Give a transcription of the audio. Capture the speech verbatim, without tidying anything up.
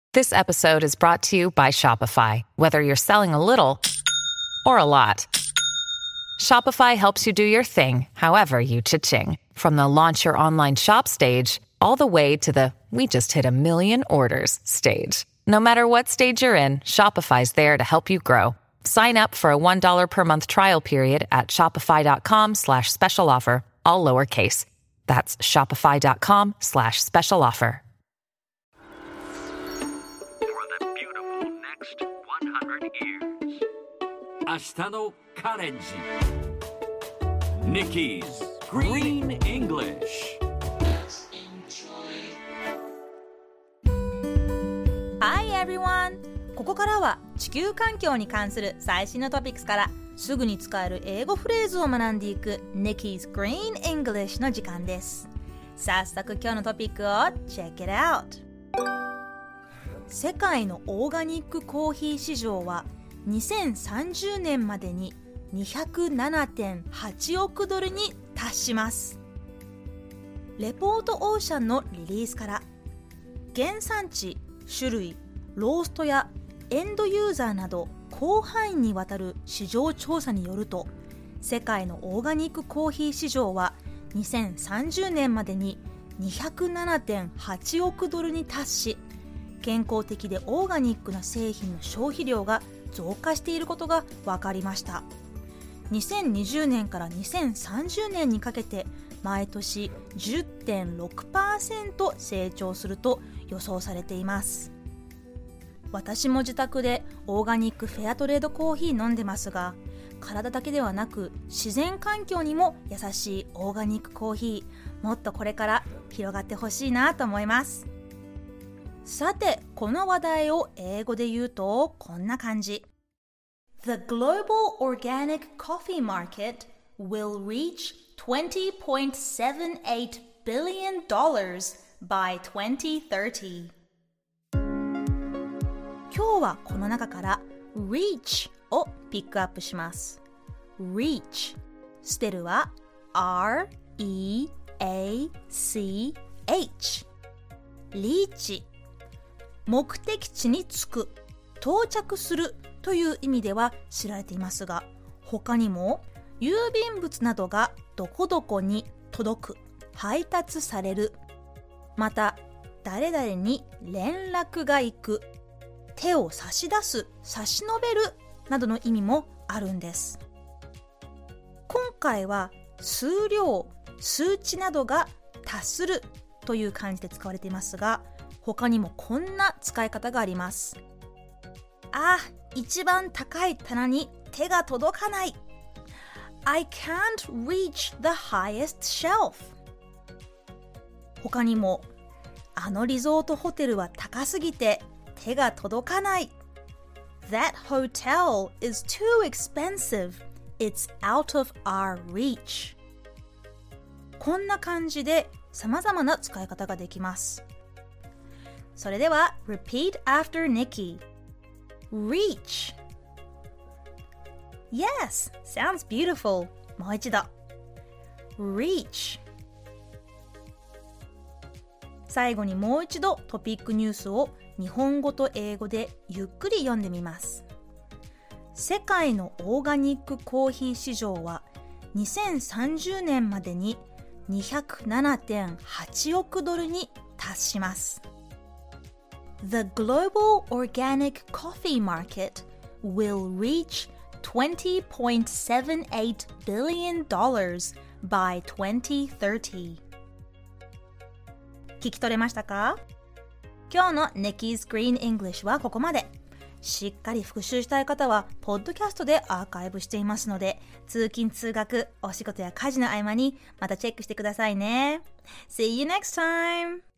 This episode is brought to you by Shopify. Whether you're selling a little or a lot, Shopify helps you do your thing, however you cha-ching. From the launch your online shop stage, all the way to the we just hit a million orders stage. No matter what stage you're in, Shopify's there to help you grow. Sign up for a one dollar per month trial period at shopify.com slash special offer, all lowercase. That's shopify.com slash special offer. For the beautiful next one hundred years. 明日のカレンジ Nikki's Green English。 Hi everyone! ここからは地球環境に関する最新のトピックスからすぐに使える英語フレーズを学んでいく Nikki's Green English の時間です。早速今日のトピックを Check it out! 世界のオーガニックコーヒー市場はにせんさんじゅうねんまでに にひゃくななてんはちおくドルに達します。レポートオーシャンのリリースから原産地、種類、ローストやエンドユーザーなど広範囲にわたる市場調査によると、世界のオーガニックコーヒー市場はにせんさんじゅうねんまでに にひゃくななてんはちおくドルに達し、健康的でオーガニックな製品の消費量が増加していることが分かりました。にせんにじゅうねんからにせんさんじゅうねんにかけて毎年 じゅってんろくパーセント 成長すると予想されています。私も自宅でオーガニックフェアトレードコーヒー飲んでますが、体だけではなく自然環境にも優しいオーガニックコーヒー、もっとこれから広がってほしいなと思います。さて、この話題を英語で言うとこんな感じ。The global organic coffee market will reach twenty point seven eight billion dollars by twenty thirty. 今日はこの中から reach をピックアップします。reach スペルは アールイーエーシーエイチ リーチ、目的地に着く、到着するという意味では知られていますが、他にも郵便物などがどこどこに届く、配達される、また誰々に連絡が行く、手を差し出す、差し伸べるなどの意味もあるんです。今回は数量、数値などが達するという感じで使われていますが、他にもこんな使い方があります。あ、一番高い棚に手が届かない。I can't reach the highest shelf. 他にも、あのリゾートホテルは高すぎて手が届かない。That hotel is too expensive. It's out of our reach. こんな感じで様々な使い方ができます。それでは Repeat after Nikki. Reach. Yes, sounds beautiful. もう一度 Reach. 最後にもう一度トピックニュースを日本語と英語でゆっくり読んでみます。世界のオーガニックコーヒー市場はにせんさんじゅうねんまでに にひゃくななてんはちおくドルに達します。The global organic coffee market will reach twenty point seven eight billion dollars by twenty thirty. 聞き取れましたか？今日の Nikki's Green English はここまで。しっかり復習したい方はポッドキャストでアーカイブしていますので、通勤通学、お仕事や家事の合間にまたチェックしてくださいね。See you next time!